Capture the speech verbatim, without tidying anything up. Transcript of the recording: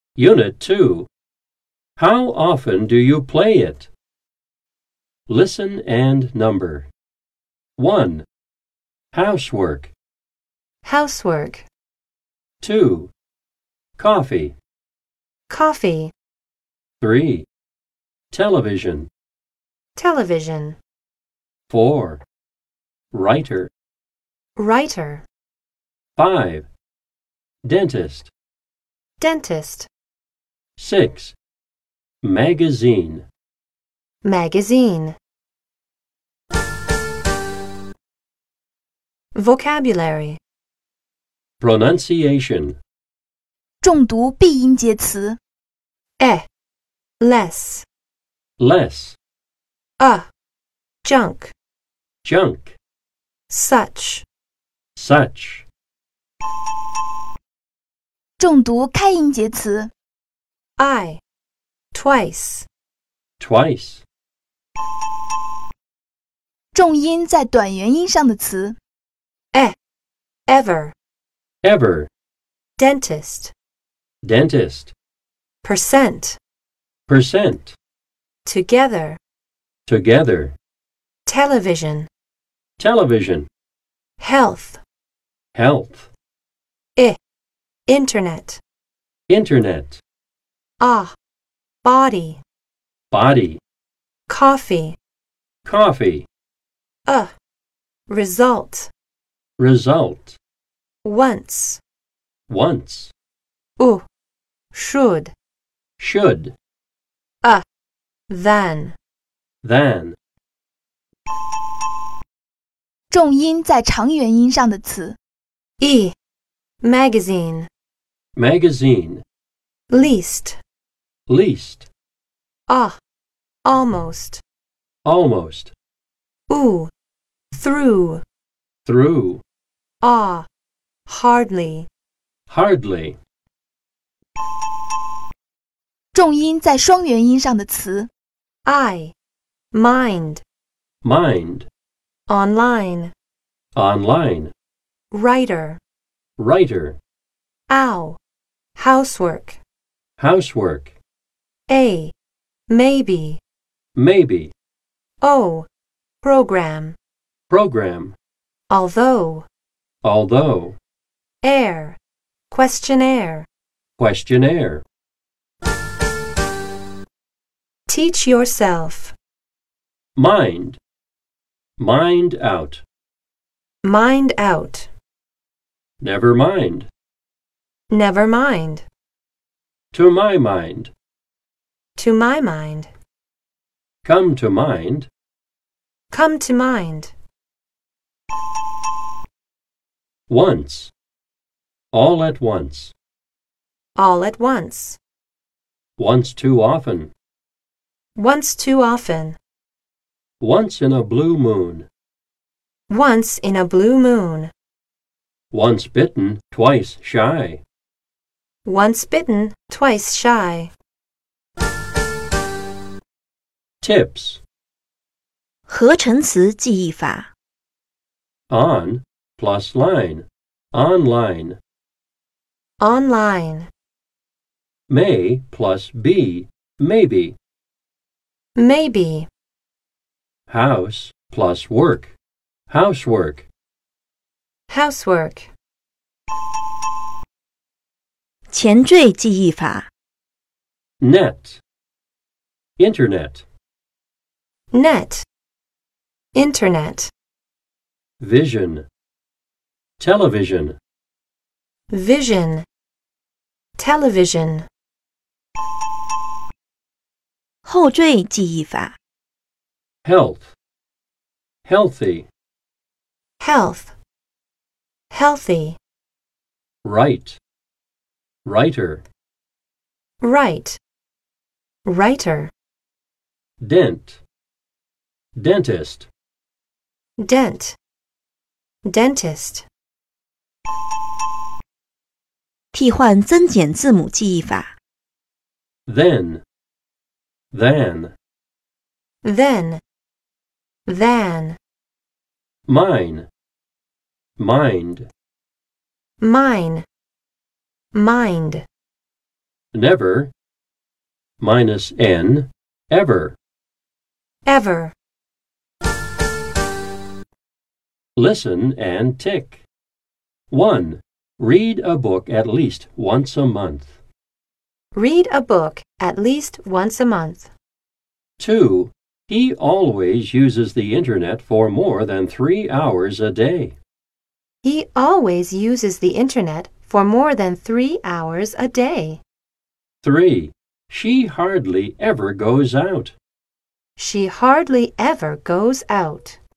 Unit two. How often do you play it? Listen and number. one. Housework. Housework. two. Coffee. Coffee. three. Television. Television. four. Writer. Writer. five. Dentist. Dentist. six. Magazine. Magazine. Vocabulary. Pronunciation. 重读闭音节词 E. Less. Less. A. Junk. Junk. Such. Such. 重读开音节词 I. Twice. Twice. 重音在短元音上的词 E. Ever. Ever. Dentist. Dentist. Percent. Percent. Together. Together. Television. Television. Health. Health. I. Internet. Internet. Ah. Body. Body. Coffee. Coffee. A. Result. Result. Once. Once. U. Should. Should. A. Than. Than. 重音在长元音上的词 E. Magazine. Magazine. Least. Least. Ah. Almost. Almost. U. Through. Through. Ah. Hardly. Hardly. 重音在双元音上的词 I. Mind. Mind. Online. Online. Writer. Writer. Ow. Housework. Housework. A. Maybe. Maybe. O. Program. Program. Although. Although. Air. Questionnaire. Questionnaire. Teach yourself. Mind. Mind out. Mind out. Never mind. Never mind. To my mind. To my mind. Come to mind. Come to mind. Once. All at once. All at once. Once too often. Once too often. Once in a blue moon. Once in a blue moon. Once bitten, twice shy. Once bitten, twice shy. Tips. 合成词记忆法 On plus line. Online. Online. May plus be. Maybe. Maybe. House plus work. Housework. Housework. 前缀记忆法 Net. Internet. Net. Internet. Vision. Television. Vision. Television. 后缀记忆法 Health. Healthy. Health. Healthy. Right. Writer. Right. Writer. Dent. Dentist. Dent. Dentist. 替换增减字母记忆法 Then. Than. Then. Than. Mine. Mind. Mine. Mind. never, minus N, ever. ever, Listen and tick. one. Read a book at least once a month. read a book at least once a month. two. He always uses the internet for more than three hours a day. He always uses the internet for more than three hours a day. three. She hardly ever goes out. She hardly ever goes out.